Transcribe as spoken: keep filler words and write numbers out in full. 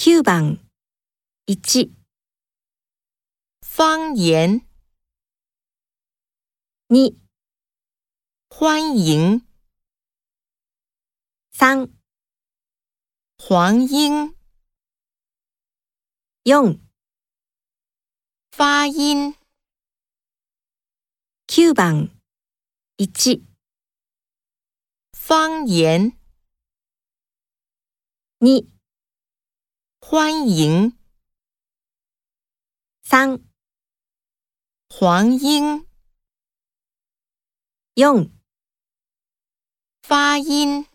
きゅうばんいち方言に欢迎さん黄莺よん发音きゅうばんいち方言に欢迎さん黄莺よん发音